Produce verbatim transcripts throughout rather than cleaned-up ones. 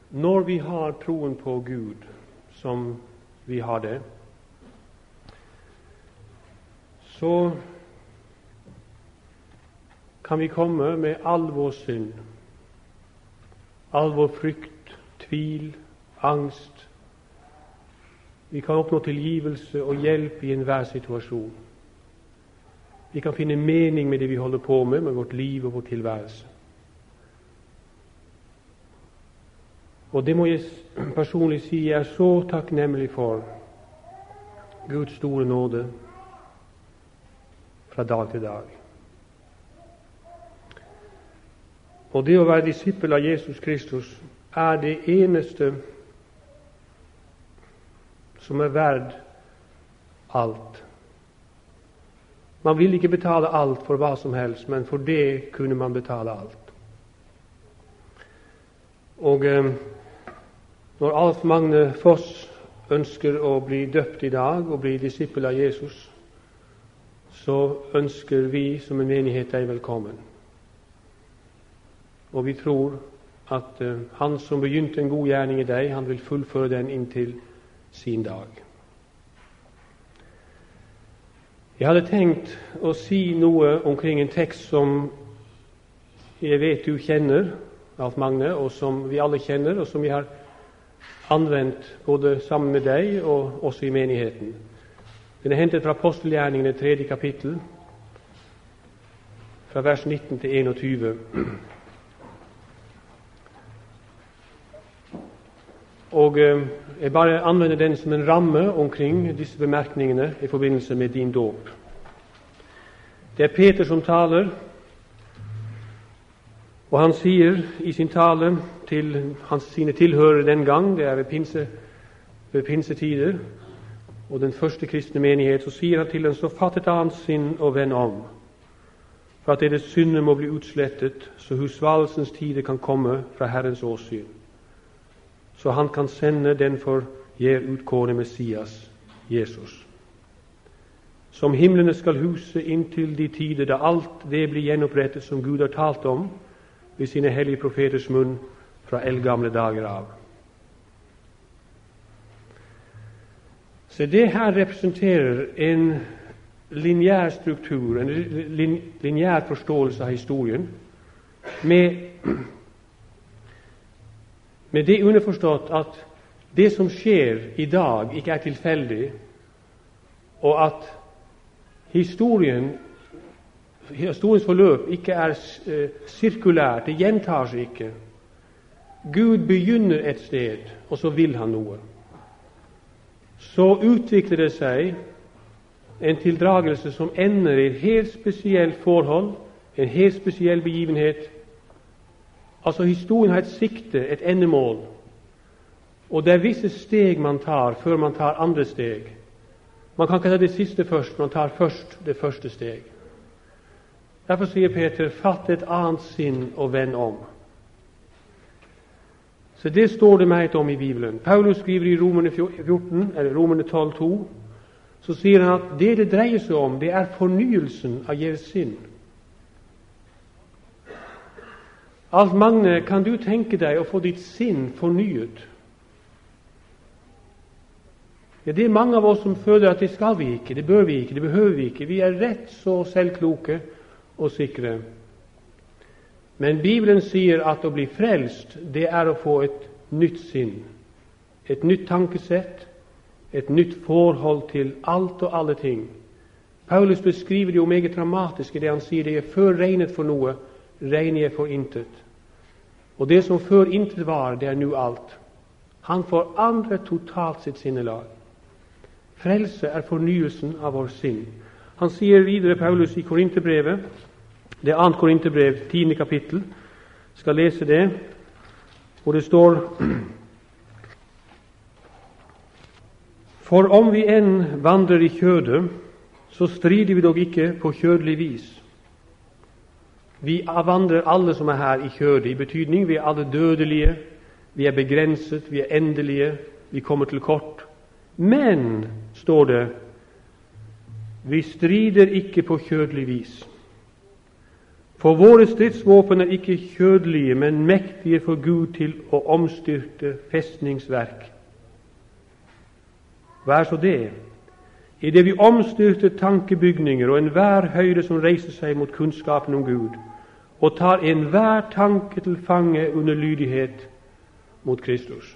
Når vi har troen på Gud, som vi har det, så kan vi komme med all vår synd, all vår frykt, tvil, angst. Vi kan oppnå tilgivelse og hjelp i enhver situasjon. Vi kan finne mening med det vi holder på med, med vårt liv og vår tilværelse. Og det må jeg personlig si, jeg er så takknemlig for Guds store nåde fra dag til dag. Og det å være disippel av Jesus Kristus er det eneste som er verd alt. Man vil ikke betale alt for hva som helst, men for det kunne man betale alt. Og eh, når Alf Magne Foss ønsker å bli døpt i dag og bli disippel av Jesus, så ønsker vi som en menighet deg velkommen. Og vi tror at uh, han som begynte en god gjerning i deg, han vil fullføre den inntil sin dag. Jeg hadde tenkt å si noe omkring en tekst som jeg vet du kjenner, Alf Magne, og som vi alle kjenner, og som vi har anvendt både sammen med deg og også i menigheten. Den er hentet fra Apostelgjerningene tredje kapittel, fra vers nitten til enogtyve. Og eh, jeg bare anvender den som en ramme omkring disse bemerkningene i forbindelse med din dåp. Det er Peter som taler, og han sier i sin tale til hans, sine tilhørere den gang, det er ved, pinse, ved pinsetider, og den første kristne menighet, så sier han til dem, så fatt et annet sinn og vend om, for at deres synder må bli utslettet, så husvalelsens tider kan komme fra Herrens åsyn, så han kan sende den for gjer utkårne Messias, Jesus. Som himlene skal huse inntil de tider da alt det blir gjenopprettet som Gud har talt om ved sine hellige profeters munn fra eldgamle dager av. Så det her representerer en lineær struktur, en lin, lineær forståelse av historien, med, med det underforstått at det som skjer i dag ikke er tilfeldig, og at historien, historiens forløp ikke er eh, sirkulært, det gjentar seg ikke. Gud begynner et sted, og så vil han noe. Så utvikler det seg en tildragelse som ender i et helt spesielt forhold, en helt spesiell begivenhet. Altså historien har et sikte, et endemål, og det er visse steg man tar før man tar andre steg. Man kan ikke ta det siste først, man tar først det første steg. Derfor sier Peter, fatt et annet sinn og vend om. Så det står det meget om i Bibelen. Paulus skriver i Romerne fjorten, eller Romerne tolv to, så sier han at det det dreier seg om, det er fornyelsen av deres sinn. Alf Magne, kan du tenke deg å få ditt sinn fornyet? Ja, det er mange av oss som føler at det skal vi ikke, det bør vi ikke, det behøver vi ikke. Vi er rett så selvkloke og sikre. Men Bibelen sier at å bli frelst, det er å få et nytt sinn, et nytt tankesett, et nytt forhold til alt og alle ting. Paulus beskriver det jo meget dramatisk i det han sier, det er før regnet for noe, regner jeg for intet. Og det som før intet var, det er nå alt. Han forandrer totalt sitt sinnelag. Frelse er fornyelsen av vår sinn. Han sier videre, Paulus, i Korinterbrevet, det er annet Korinterbrev, tiende kapittel, skal lese det, hvor det står: For om vi enn vandrer i kjødet, så strider vi dog ikke på kjødelig vis. Vi vandrer alle som er her i kjødet, i betydning vi er alle dødelige, vi er begrenset, vi er endelige, vi kommer til kort. Men, står det, vi strider ikke på kjødelig vis. For våre stridsvåpen er ikke kjødelige, men mektige for Gud til å omstyrte festningsverk. Hva er så det? I det vi omstyrter tankebygninger og enhver høyde som reiser seg mot kunnskapen om Gud, og tar enhver tanke til fange under lydighet mot Kristus.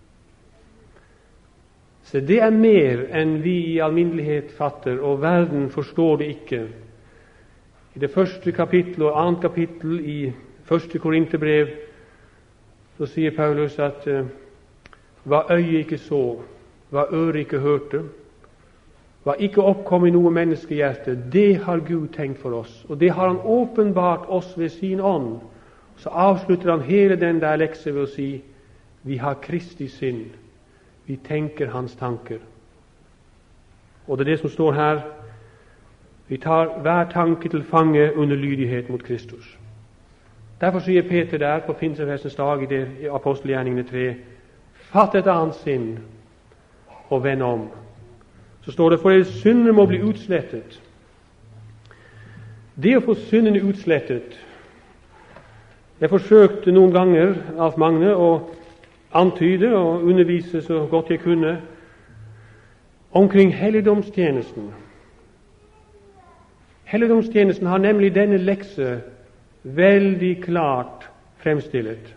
Så det er mer enn vi i alminnelighet fatter, og verden forstår det ikke. I det første kapittel og annet kapittel i første Korinterbrev så sier Paulus at uh, hva øyet ikke så, hva øret ikke hørte, hva ikke oppkom i noe menneskehjerte, det har Gud tenkt for oss, og det har han åpenbart oss ved sin ånd. Så avslutter han hele den der lekse ved å si vi har Kristi sinn, vi tenker hans tanker. Og det er det som står her. Vi tar hver tanke til fange under lydighet mot Kristus. Derfor sier Peter der på pinsefestens dag i, det, i apostelgjerningene tre, fatt et annet sinn og vend om. Så står det, for deres synder må bli utslettet. Det å få syndene utslettet, jeg forsøkte noen ganger, Alf Magne, å antyde og undervise så godt jeg kunne omkring helligdomstjenesten. Helligdomstjenesten har nemlig denne lekse veldig klart fremstillet.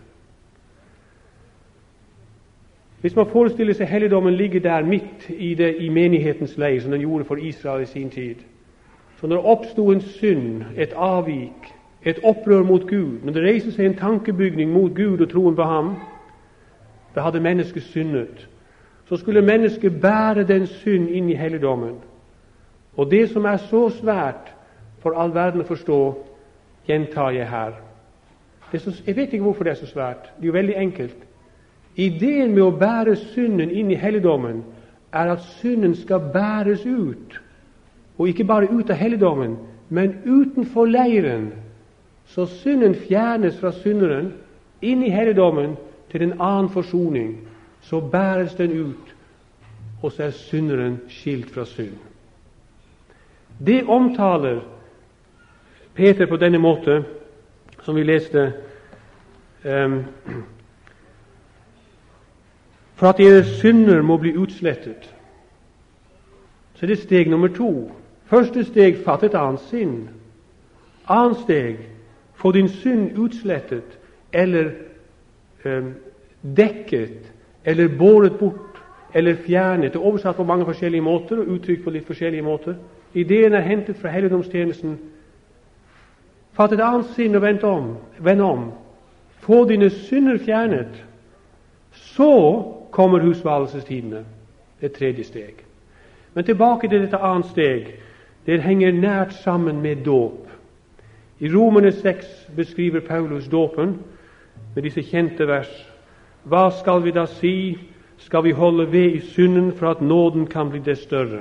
Hvis man forestiller seg helligdommen ligger der midt i, det, i menighetens leir, som den gjorde for Israel i sin tid, så når det oppstod en synd, et avvik, et opprør mot Gud, når det reiser seg en tankebygning mot Gud og troen på ham, da hadde mennesket syndet. Så skulle mennesket bære den synd inn i helligdommen. Og det som er så svært for all verden å forstå, gjentar jeg her. Det er så, jeg vet ikke hvorfor det er så svært. Det er jo veldig enkelt. Ideen med å bære synden inn i helligdommen er at synden skal bæres ut. Og ikke bare ut av helligdommen, men utenfor leiren. Så synden fjernes fra synderen inn i helligdommen til en annen forsoning. Så bæres den ut, og så er synderen skilt fra synd. Det omtaler Peter på denne måte, som vi leste, um, for at deres synder må bli utslettet. Så det er steg nummer to. Første steg, fatt et annet sinn. Annet steg, få din synd utslettet, eller um, dekket, eller båret bort, eller fjernet. Det er oversatt på mange forskjellige måter, og uttrykt på litt forskjellige måter. Ideen er hentet fra helligdomstjenesten. Fatt et annet sinn og vend om, vend om. Få dine synder fjernet. Så kommer husvalgelsestidene, det tredje steg. Men tilbake til dette annet steg. Det henger nært sammen med dåp. I Romerne seks beskriver Paulus dåpen med disse kjente vers. Hva skal vi da si? Skal vi holde ved i synden for at nåden kan bli det større?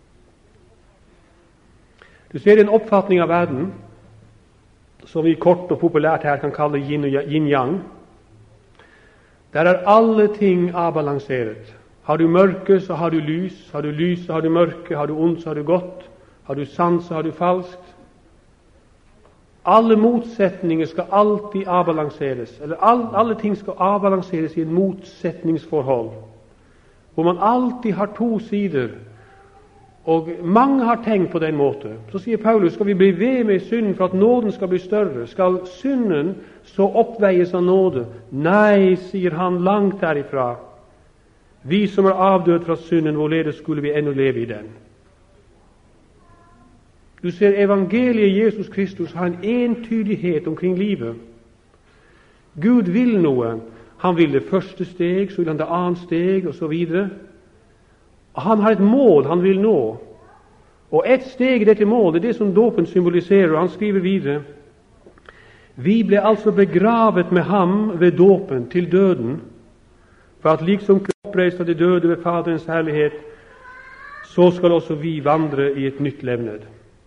Du ser en oppfatning av verden som vi kort og populært her kan kalle yin-yang. Der er alle ting avbalanseret. Har du mørke, så har du lys. Har du lys, så har du mørke. Har du ondt, så har du godt. Har du sant, så har du falskt. Alle motsetninger skal alltid avbalanseres. Eller all, alle ting skal avbalanseres i en motsetningsforhold, hvor man alltid har to sider. Og mange har tenkt på den måten. Så sier Paulus, skal vi bli ved med synden for at nåden skal bli større? Skal synden så oppveies av nåde? Nei, sier han, langt derifra. Vi som er avdød fra synden, hvorledes skulle vi ennå leve i den? Du ser, evangeliet Jesus Kristus har en entydighet omkring livet. Gud vil noe. Han vil det første steg, så vil han det annet steg, og så videre. Han har et mål han vil nå. Og et steg i dette målet, det er det som dåpen symboliserer. Og han skriver videre: Vi ble altså begravet med ham ved dåpen til døden, for at liksom oppreist av de døde ved Faderens herlighet, så skal også vi vandre i et nytt levned.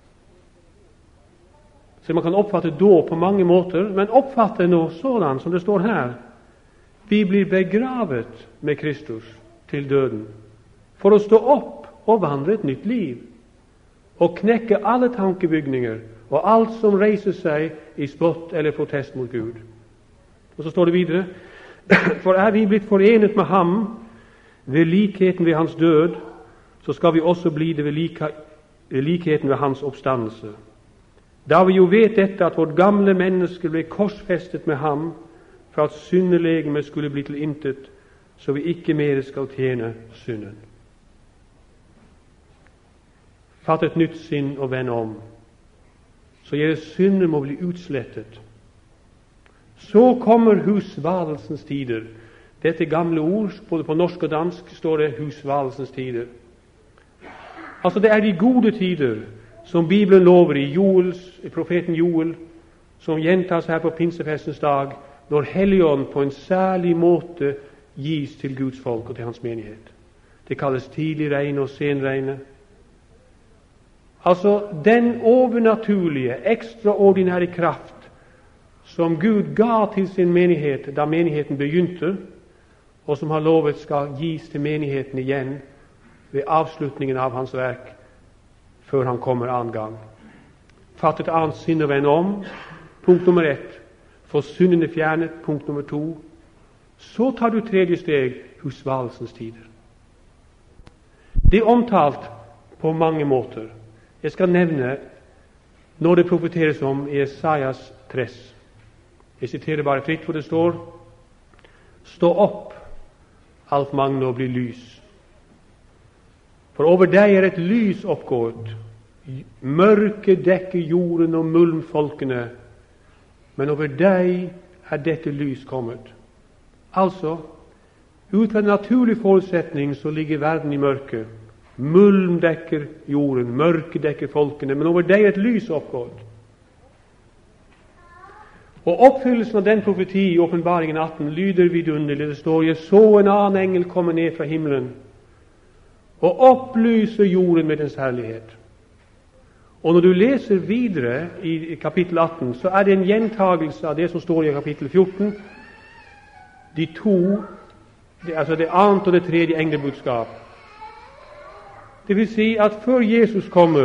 Så man kan oppfatte dåp på mange måter, men oppfatte nå sådan som det står her: Vi blir begravet med Kristus til døden, for å stå opp og vandre et nytt liv. og knekke alle tankebygninger og alt som reiser seg i spott eller protest mot Gud. Og så står det videre: for er vi blitt forenet med ham ved likheten ved hans død, så skal vi også bli det ved, like, ved likheten ved hans oppstandelse. Da vi jo vet dette, at vårt gamle menneske ble korsfestet med ham, for at syndelegemet skulle bli til intet, så vi ikke mer skal tjene synden. Fatt et nytt sinn og vend om, så deres synder må bli utslettet. Så kommer husvalelsens tider. Dette gamle ord, både på norsk og dansk, står det husvalelsens tider. Altså det er de gode tider, som Bibelen lover i Joels, i profeten Joel, som gjentas her på pinsefestens dag, når Helligånd på en særlig måte gis til Guds folk og til hans menighet. Det kalles tidlig regn og senregn. Altså den overnaturlige, ekstraordinære kraft som Gud ga til sin menighet da menigheten begynte, og som han lovet skal gis til menigheten igjen ved avslutningen av hans verk, før han kommer annen gang. Fatt et annet sinn og vend om. Punkt nummer ett. Få syndene fjernet. Punkt nummer to. Så tar du tredje steg, husvalelsens tider. Det er omtalt på mange måter. Jeg skal nevne når det profeteres om i Esaias tres. Jeg siterer bare fritt hvor det står: stå opp, alt magne, og bli lys. For over deg er et lys oppgått. Mørke dekker jorden og mulm folkene, men over deg er dette lys kommet. Altså, ut fra en naturlig forutsetning så ligger verden i mørke. Mulm dekker jorden, mørke dekker folkene, men over deg er et lys oppgått. Og oppfyllelsen av den profeti i Åpenbaringen atten lyder vidunderlig. Det står: jeg så en annen engel komme ned fra himmelen og opplyse jorden med dens herlighet. Og når du leser videre i kapittel atten, så er det en gjentagelse av det som står i kapittel fjorten. De to, det, altså det annet og det tredje englebudskap. Det vil si at før Jesus kommer,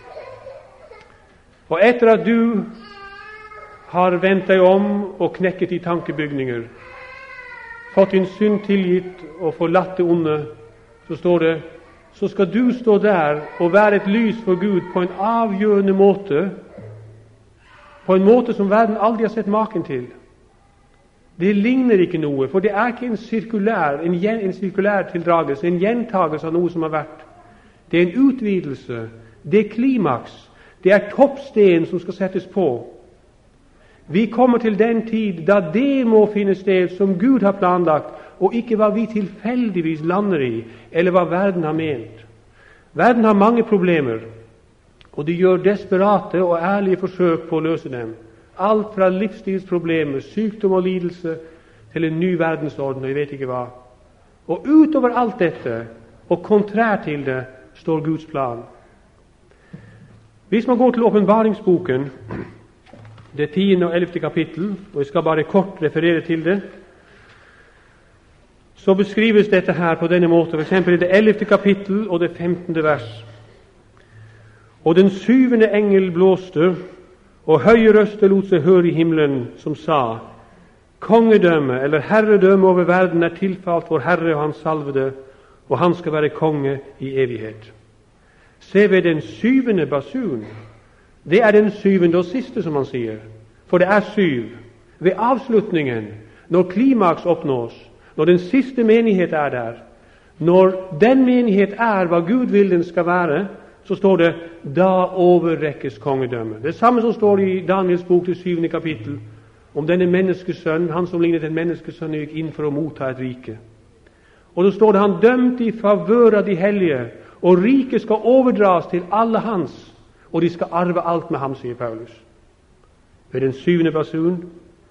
og etter at du har vendt deg om og knekket de tankebygninger, fått din synd tilgitt og forlatt det onde, så står det: så skal du stå der og være et lys for Gud på en avgjørende måte, på en måte som verden aldri har sett maken til. Det ligner ikke noe, for det er ikke en sirkulær, en, en sirkulær tildragelse, en gjentagelse av noe som har vært. Det er en utvidelse, det er klimaks, det er toppsten som skal settes på. Vi kommer til den tid da det må finne sted som Gud har planlagt, og ikke hva vi tilfeldigvis lander i, eller hva verden har ment. Verden har mange problemer, og de gjør desperate og ærlige forsøk på å løse dem. Alt fra livsstilsproblemer, sykdom og lidelse, til en ny verdensorden, og jeg vet ikke hva. Og utover alt dette, og kontrær til det, står Guds plan. Hvis man går til åpenbaringsboken, det tiende og ellevte kapittel, og jeg skal bare kort referere til det, så beskrives dette her på denne måten, for eksempel i det ellevte kapittel og det femtende vers. Og den syvende engel blåste, og høye røster lot seg høre i himmelen, som sa: kongedømme eller herredømme over verden er tilfalt vår Herre og hans salvede, og han skal være konge i evighet. Se ved den syvende basun. Det er den syvende og siste, som han sier, for det er syv. Ved avslutningen, når klimaks oppnås, når den siste menighet er der, når den menighet er hva Gud vil den skal være, så står det: da overrekkes kongedømme. Det samme som står i Daniels bok til syvende kapittel, om denne menneskesønn, han som lignet en menneskesønn, gikk inn for å motta et rike. Og så står det: han dømte i favør av de hellige, og riket skal overdras til alle hans, og de skal arve alt med ham, sier Paulus. Ved den syvende basun: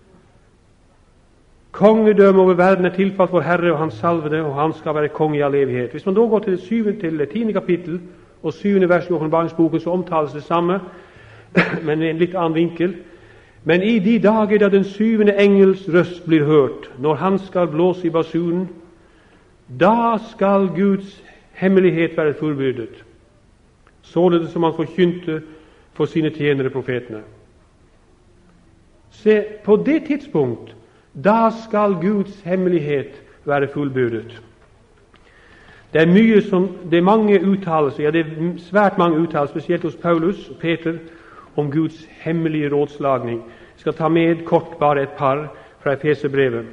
kongedømme over verden er tilfalt vår Herre og hans salvede, og han skal være konge i all evighet. Hvis man da går til det syvende til det tiende kapittel og syvende vers i åpenbaringsboken, så omtales det samme, men med en litt annen vinkel. Men i de dager da den syvende engels røst blir hørt, når han skal blåse i basunen, da skal Guds hemmelighet være fullbyrdet. således som han forkynte for sine tjenere profetene. Se, på det tidspunkt, da skal Guds hemmelighet være fullbyrdet. Det er mye som, det er mange uttalelser, ja det er svært mange uttalelser, spesielt hos Paulus og Peter, om Guds hemmelige rådslagning. Jeg skal ta med kort bare et par fra Efeserbrevet.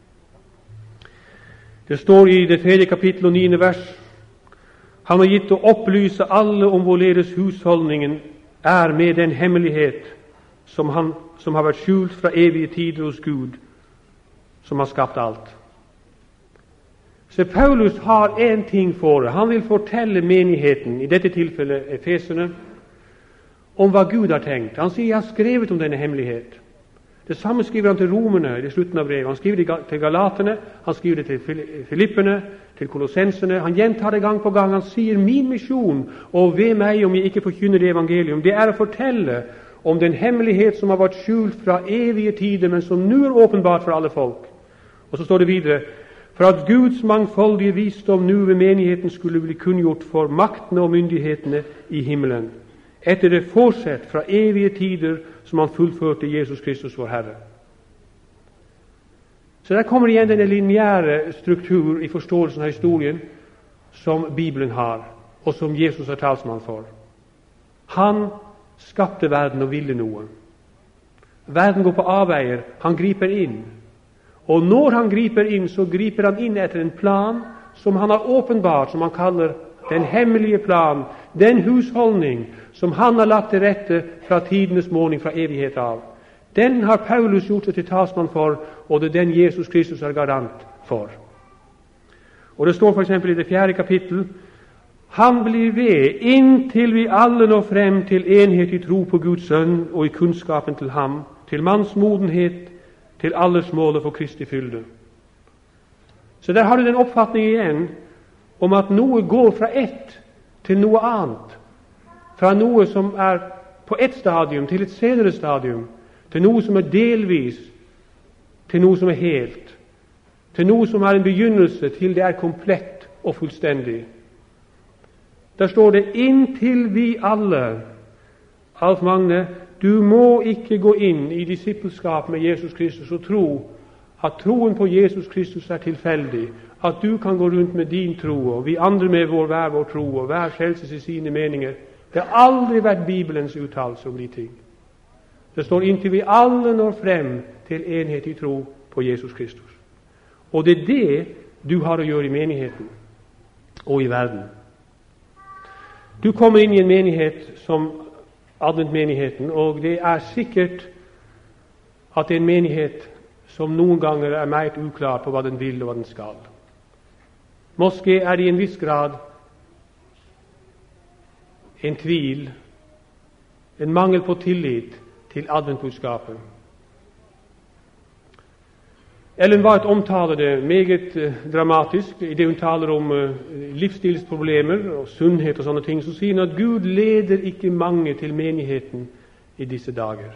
Det står i det tredje kapittel og niende vers: Han har gitt å opplyse alle om hvorledes husholdningen er med den hemmelighet som, han, som har vært skjult fra evige tider hos Gud, som har skapt alt. Så Paulus har en ting for det. Han vil fortelle menigheten, i dette tilfellet Efeserne, om hva Gud har tenkt. Han sier, jeg har skrevet om denne hemmelighet. Det samme skriver han til romerne i slutten av brevet. Han skriver det til galaterne, han skriver det til filipperne, til kolossenserne. Han gjentar det gang på gang. Han sier, min misjon, og ved meg om jeg ikke forkynner det evangelium, det er å fortelle om den hemmelighet som har vært skjult fra evige tider, men som nå er åpenbart for alle folk. Og så står det videre, for at Guds mangfoldige visdom nå ved menigheten skulle bli kunngjort for maktene og myndighetene i himmelen, etter det forsett fra evige tider som han fullførte Jesus Kristus vår Herre. Så der kommer igjen denne lineære struktur i forståelsen av historien som Bibelen har, og som Jesus er talsmann for. Han skapte verden og ville noe. Verden går på avveier, han griper inn. Og når han griper inn, så griper han inn etter en plan som han har åpenbart, som han kaller den hemmelige plan, den husholdning som han har lagt til rette fra tidenes morgen, fra evighet av. Den har Paulus gjort seg til talsmann for, og det er den Jesus Kristus er garant for. Og det står for eksempel i det fjerde kapittel, han blir ved inntil vi alle når frem til enhet i tro på Guds sønn og i kunnskapen til ham, til manns modenhet, til alles målet for Kristi fylde. Så der har du den oppfatning igjen om at noe går fra ett til noe annet, fra noe som er på ett stadium til et senere stadium, til noe som er delvis, til noe som er helt, til noe som er en begynnelse til det er komplett og fullstendig. Der står det, inntil vi alle, Alf Magne, du må ikke gå inn i disippelskap med Jesus Kristus og tro at troen på Jesus Kristus er tilfeldig, at du kan gå rundt med din tro, og vi andre med vår hver vår tro, og hver frelses i sine meninger. Det har aldri vært Bibelens uttalelse om de ting. Det står inntil vi alle når frem til enhet i tro på Jesus Kristus. Og det er det du har å gjøre i menigheten og i verden. Du kommer inn i en menighet som adventmenigheten, og det er sikkert at det er en menighet som noen ganger er meget uklar på hva den vil og hva den skal. Måske er det i en viss grad en tvil, en mangel på tillit til adventbudskapet. Ellen White omtaler det meget eh, dramatisk i det hun taler om eh, livsstilsproblemer og sunnhet og sånne ting. Så sier hun at Gud leder ikke mange til menigheten i disse dager.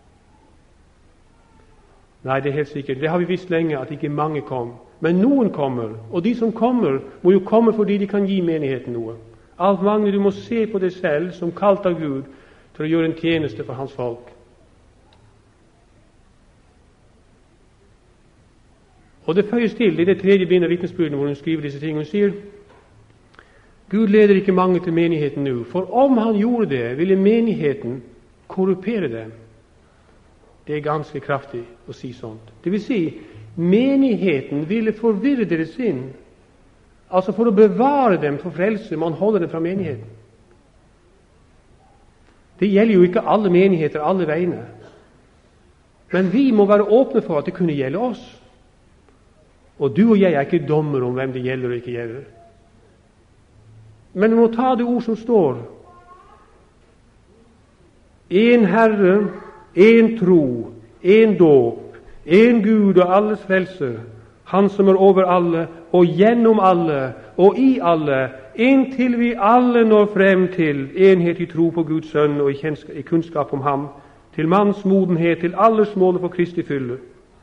Nei, det er helt sikkert. Det har vi visst lenge, at ikke mange kom. Men noen kommer, og de som kommer, må jo komme fordi de kan gi menigheten noe. Alt mange, du må se på deg selv som kalt av Gud til å gjøre en tjeneste for hans folk. Og det føyes til i det tredje bindet av vitnesbyrdene hvor hun skriver disse ting. Hun sier, Gud leder ikke mange til menigheten nå, for om han gjorde det, ville menigheten korrupere dem. Det er ganske kraftig å si sånt. Det vil si, menigheten ville forvirre deres sinn. Altså for å bevare dem for frelse, man holder dem fra menigheten. Det gjelder jo ikke alle menigheter, alle veiene. Men vi må være åpne for at det kunne gjelde oss. Og du og jeg er ikke dommer om hvem det gjelder og ikke gjelder. Men vi må ta det ord som står. En Herre, en tro, en dåp, en Gud og alles frelse, han som er over alle, og gjennom alle, og i alle, inntil vi alle når frem til enhet i tro på Guds sønn og i kunnskap om ham, til manns modenhet, til alles målet for Kristi fylde.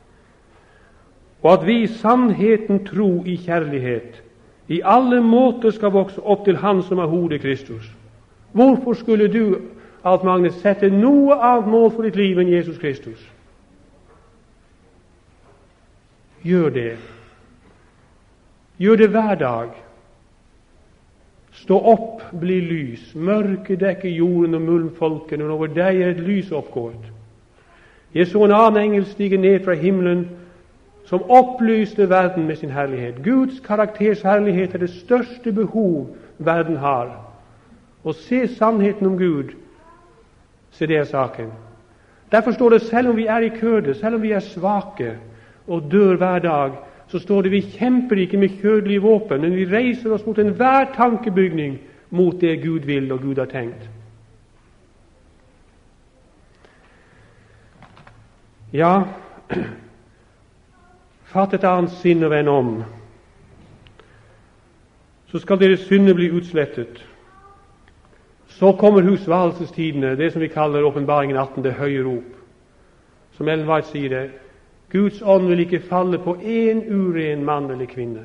Og at vi i sannheten tro i kjærlighet, i alle måter skal vokse opp til Han som er hodet Kristus, Hvorfor skulle du, Alf Magne, sette noe annet mål for ditt liv enn Jesus Kristus? Gjør det. Gjør det hver dag. Stå opp, bli lys. Mørket dekker jorden og mulmfolken, og over deg er et lys oppgått. Jeg så en annen engel stige ned fra himmelen, som opplyste verden med sin herlighet. Guds karakters herlighet er det største behov verden har. Å se sannheten om Gud, så det er saken. Derfor står det, selv om vi er i køde, selv om vi er svake og dør hver dag, så står det, vi kjemper ikke med kjødelige våpen, men vi reiser oss mot enhver tankebygning mot det Gud vil og Gud har tenkt. Ja, fatt et annet sinn og vend om, så skal deres synder bli utslettet. Så kommer husvalgelsestidene, det som vi kaller åpenbaringen atten, det høye rop. Som Ellen White sier det, Guds ånd vil ikke falle på en uren mann eller kvinne.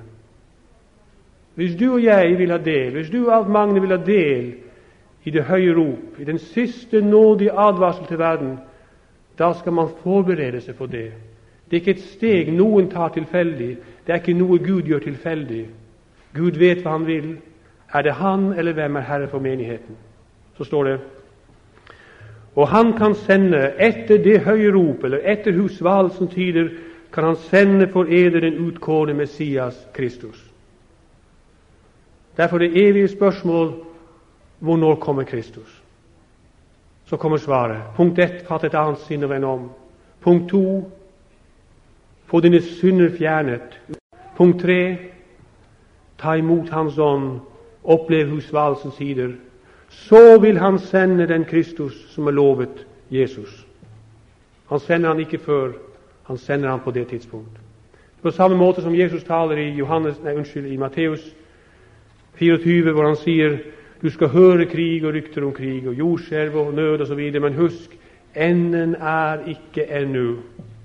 Hvis du og jeg vil ha del, hvis du og Alf Magne vil ha del i det høye rop, i den siste nådige advarsel til verden, da skal man forberede seg på det. Det er ikke et steg noen tar tilfeldig, det er ikke noe Gud gjør tilfeldig. Gud vet hva han vil. Er det han eller hvem er herre for menigheten? Så står det, og han kan sende etter det høye rop, eller etter husvalgelsens tider, kan han sende for eder den utkårne Messias Kristus. Derfor det evige spørsmål, hvornår kommer Kristus? Så kommer svaret. Punkt ett, fatt et annet sinn og vend om. Punkt to, få dine synder fjernet. Punkt tre, ta imot hans ånd, opplev husvalgelsens tider. Så vil han sende den Kristus som er lovet Jesus. Han sender han ikke før, han sender han på det tidspunkt. På samme måte som Jesus taler i Johannes, nei, unnskyld, i Matteus fireogtyve, hvor han sier, du skal høre krig og rykter om krig, og jordskjelv og nød og så videre, men husk, enden er ikke ennå.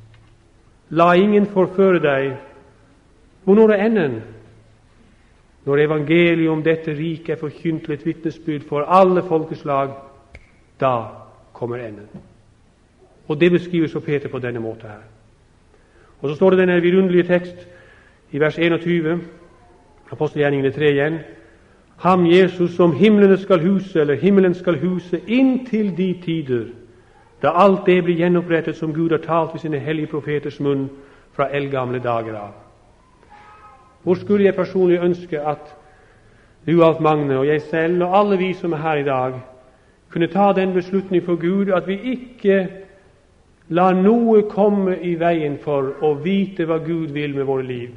La ingen forføre deg. Hvornår er enden? Når evangeliet om dette riket er forkynt til et vitnesbyrd for alle folkeslag, da kommer enden. Og det beskrives av Peter på denne måten her. Og så står det denne vidunderlige tekst i vers enogtyve, apostelgjerningene tre igjen. Ham Jesus som himmelene skal huse, eller himmelen skal huse, inntil de tider, da alt det blir gjenopprettet som Gud har talt ved sine hellige profeters munn fra eldgamle dager av. Hvor skulle jeg personlig ønske at du, Alf Magne, og jeg selv, og alle vi som er her i dag, kunne ta den beslutning for Gud at vi ikke lar noe komme i veien for å vite hva Gud vil med våre liv.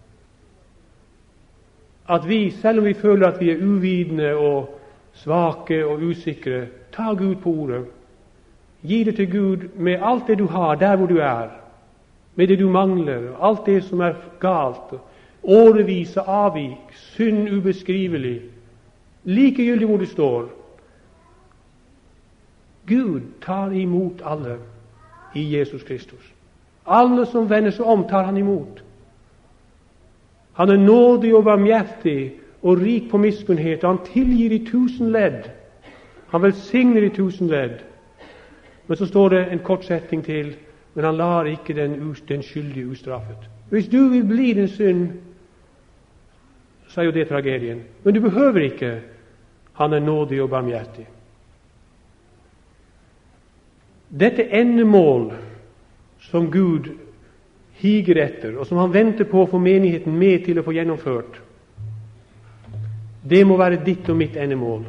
At vi, selv om vi føler at vi er uvitende og svake og usikre, ta Gud på ordet. Gi det til Gud med alt det du har, der hvor du er, med det du mangler, alt det som er galt, årevis av avvik, synd ubeskrivelig, likegyldig hvor du står. Gud tar imot alle i Jesus Kristus. Alle som vender seg om, tar han imot. Han er nådig og barmhjertig og rik på miskunnhet, og han tilgir i tusen ledd. Han velsigner i tusen ledd. Men så står det en kort setning til, men han lar ikke den, den skyldige ustraffet. Hvis du vil bli din synd, så er jo det tragedien. Men du behøver ikke. Han er nådig og barmhjertig. Dette endemål som Gud higer etter, og som han venter på å få menigheten med til å få gjennomført, det må være ditt og mitt endemål.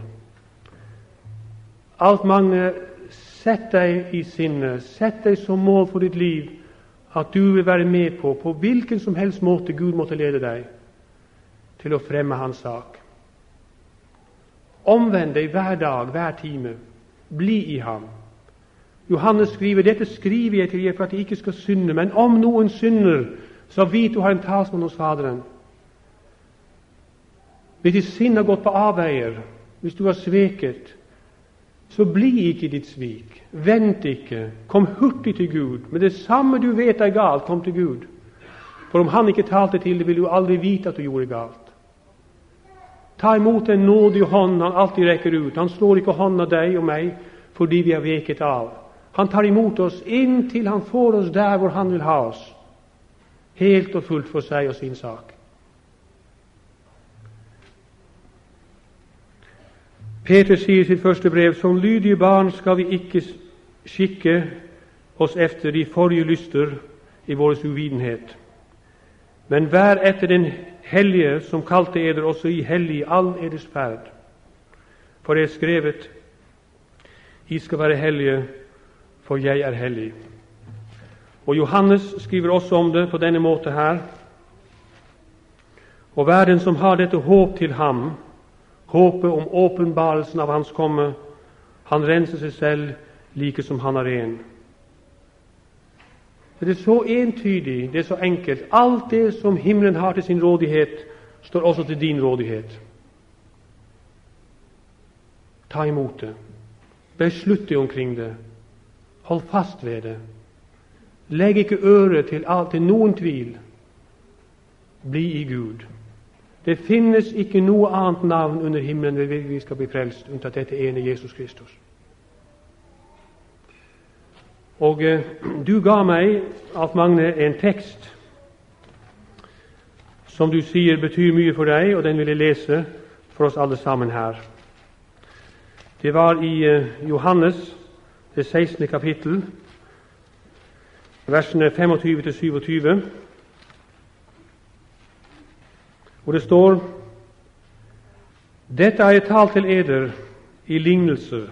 Alt mange, sett deg i sinne, sett deg som mål for ditt liv, at du vil være med på, på hvilken som helst måte Gud måtte lede deg, til å fremme hans sak. Omvend deg hver dag, hver time. Bli i ham. Johannes skriver, dette skriver jeg til dere for at de ikke skal synde, men om noen synder, så vit du har en talsmann hos Faderen. Hvis ditt sinn har gått på avveier, hvis du har sveket, så bli ikke ditt svik. Vent ikke. Kom hurtig til Gud. Med det samme du vet er galt, kom til Gud. For om han ikke talte til det, vil du aldri vite at du gjorde galt. Ta imot den nådige hånd han alltid rekker ut. Han slår ikke hånda deg og meg fordi vi har veket av. Han tar imot oss inntil han får oss der hvor han vil ha oss. Helt og fullt for seg og sin sak. Peter sier i sitt første brev, som lydige barn skal vi ikke skikke oss efter de forrige lyster i vår uvitenhet. Men vær etter den hellige som kalte eder også i hellig all eders ferd. For det er skrevet, I skal være hellige, for jeg er hellig. Og Johannes skriver også om det på denne måte her. Og hver den som har dette håp til ham, håpet om åpenbarelsen av hans komme, han renser seg selv like som han er ren. Det er så entydig, det er så enkelt. Alt det som himmelen har til sin rådighet, står også til din rådighet. Ta imot det. Beslutt deg omkring det. Hold fast ved det. Legg ikke øret til, til noen tvil. Bli i Gud. Det finnes ikke noe annet navn under himmelen ved hvilket vi skal bli frelst, unntatt dette ene Jesus Kristus. Og eh, du ga meg, Alf Magne, en tekst som du sier betyr mye for deg, og den vil jeg lese for oss alle sammen her. Det var i eh, Johannes, det sekstende kapittel, versene tjuefem til syttisju, hvor det står: Dette har jeg talt til eder i lignelser.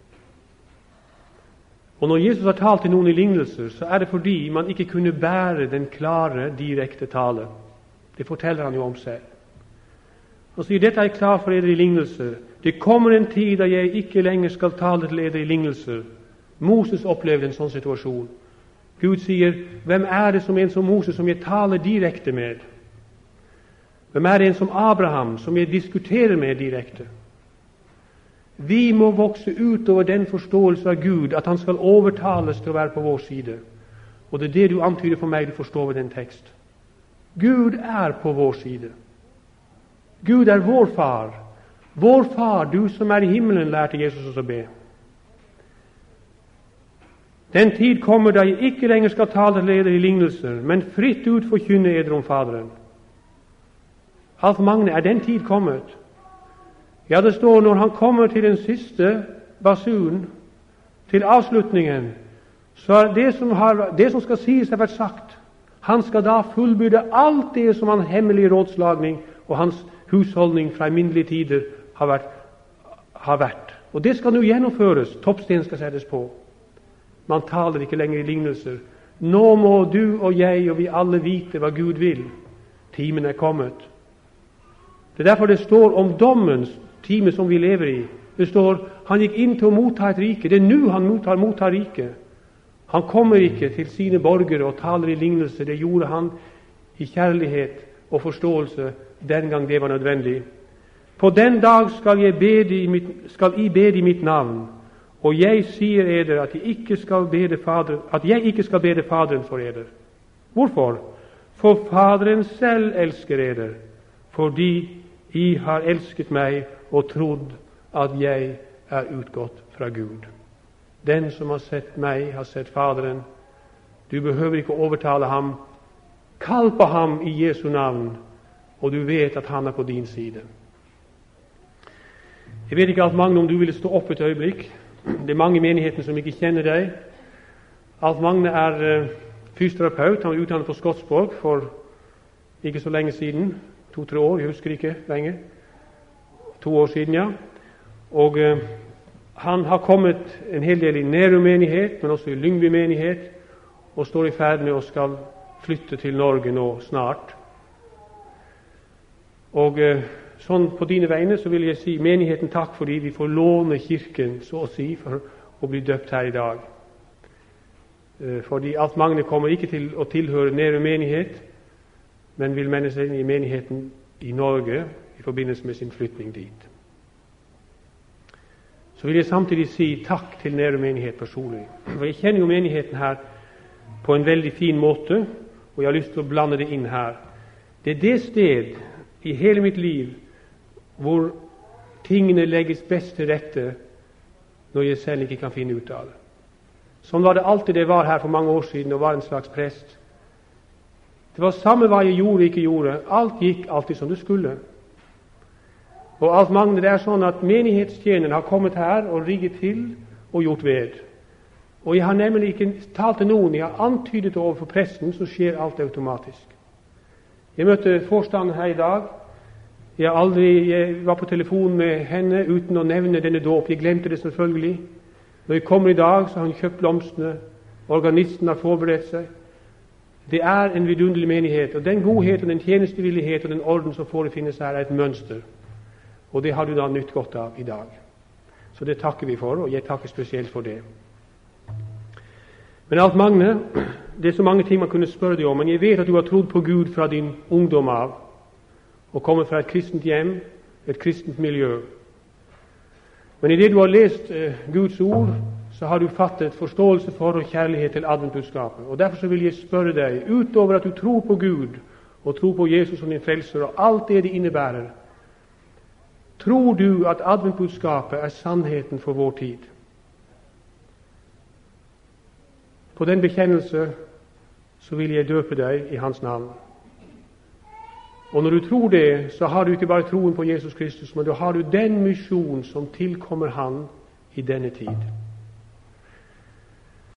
Og når Jesus har talt til noen i lignelser, så er det fordi man ikke kunne bære den klare, direkte tale. Det forteller han jo om selv. Han sier, dette er jeg klar for eder i lignelser. Det kommer en tid da jeg ikke lenger skal tale til eder i lignelser. Moses opplevde en sånn situasjon. Gud sier, hvem er det som en som Moses, som jeg taler direkte med? Hvem er det en som Abraham, som jeg diskuterer med direkte? Vi må vokse ut over den forståelse av Gud, at han skal overtales til å være på vår side. Og det er det du antyder for meg, du forstår ved den tekst. Gud er på vår side. Gud er vår far. Vår far, du som er i himmelen, lærte Jesus oss å be. Den tid kommer da jeg ikke lenger skal tale til eder i lignelser, men fritt ut forkynne eder om Faderen. Alf Magne, er den tid kommet? Ja, det står når han kommer til den siste basun, til avslutningen, så er det som, har, det som skal sies har vært sagt. Han skal da fullbyrde alt det som hans hemmelige rådslagning og hans husholdning fra alminnelige tider har vært, har vært. Og det skal nå gjennomføres. Toppsten skal settes på. Man taler ikke lenger i lignelser. Nå må du og jeg og vi alle vite hva Gud vil. Timen er kommet. Det er derfor det står om dommens time som vi lever i. Det står, han gikk inn til å motta et rike. Det er nå han mottar, mottar rike. Han kommer ikke til sine borgere og taler i lignelse. Det gjorde han i kjærlighet og forståelse den gang det var nødvendig. På den dag skal jeg bede i mitt, skal I bede i mitt navn, og jeg sier eder at jeg ikke skal bede Faderen, at jeg ikke skal bede Faderen for eder. Hvorfor? For Faderen selv elsker eder, fordi I har elsket meg og trodd at jeg er utgått fra Gud. Den som har sett meg, har sett Faderen. Du behøver ikke overtale ham. Kall på ham i Jesu navn, og du vet at han er på din side. Jeg vet ikke, Alf Magne, om du ville stå opp et øyeblikk. Det er mange i menigheten som ikke kjenner deg. Alf Magne er uh, fysioterapeut. Han var utdannet på Skotsborg for ikke så lenge siden. To-tre år, jeg husker ikke lenge. To år siden, ja. Og uh, han har kommet en hel del i Nærum menighet, men også i Lyngby menighet, og står i ferd med å skal flytte til Norge nå snart. Og uh, sånn på dine vegne så vil jeg si menigheten takk fordi vi får låne kirken, så å si, for å bli døpt her i dag. Uh, fordi Alf Magne kommer ikke til å tilhøre Nærum menighet, men vil melde seg inn i menigheten i Norge i forbindelse med sin flytning dit. Så vil jeg samtidig si takk til Nærum menighet personlig. For jeg kjenner jo menigheten her på en veldig fin måte, og jeg har lyst til å blande det inn her. Det er det sted i hele mitt liv hvor tingene legges best til rette når jeg selv ikke kan finne ut av det. Sånn var det alltid det var her for mange år siden og var en slags prest. Det var samme hva jeg gjorde ikke gjorde. Alt gikk alltid som det skulle. Og alt mangler. Det er sånn at menighetstjeneren har kommet her og rigget til og gjort ved. Og jeg har nemlig ikke talt til noen. Jeg har antydet overfor presten, så skjer alt automatisk. Jeg møtte forstanderen her i dag. Jeg, aldri, jeg var på telefon med henne uten å nevne denne dåp. Jeg glemte det selvfølgelig. Når jeg kommer i dag, så har hun kjøpt blomstene. Organisten har forberedt seg. Det er en vidunderlig menighet, og den godhet og den tjenestevillighet og den orden som forefinnes her, er et mønster. Og det har du da nytt godt av i dag. Så det takker vi for, og jeg takker spesielt for det. Men alt Magne, det er så mange ting man kunne spørre deg om, men jeg vet at du har trodd på Gud fra din ungdom av, og kommer fra et kristent hjem, et kristent miljø. Men i det du har lest eh, Guds ord, så har du fattet forståelse for og kjærlighet til adventbudskapet. Og derfor så vil jeg spørre deg, utover at du tror på Gud, og tror på Jesus som din frelser, og alt det det innebærer, tror du at adventbudskapet er sannheten for vår tid? På den bekjennelse så vil jeg døpe deg i hans navn. Og når du tror det, så har du ikke bare troen på Jesus Kristus, men da har du den misjon som tilkommer han i denne tid.